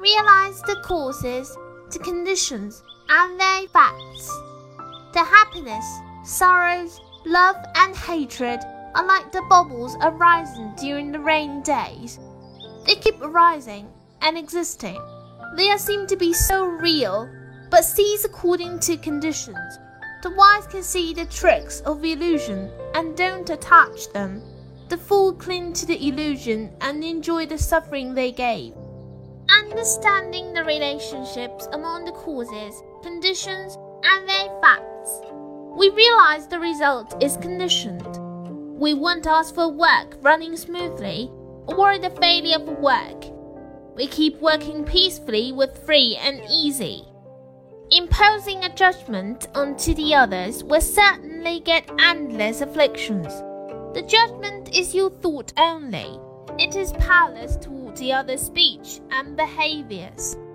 realize the causes, the conditions, and their effects. The happiness, sorrows, love, and hatred are like the bubbles arising during the rainy days. They keep arising and existing. They seem to be so real, but cease according to conditions. The wise can see the tricks of illusion and don't attach them. The fool cling to the illusion and enjoy the suffering they gave. Understanding the relationships among the causes, conditions, and their effects, we realize the result is conditioned. We won't ask for work running smoothly or the failure of work. We keep working peacefully with free and easy. Imposing a judgment onto the others will certainly get endless afflictions. The judgment is your thought only. It is powerless toward the other's speech and behaviors.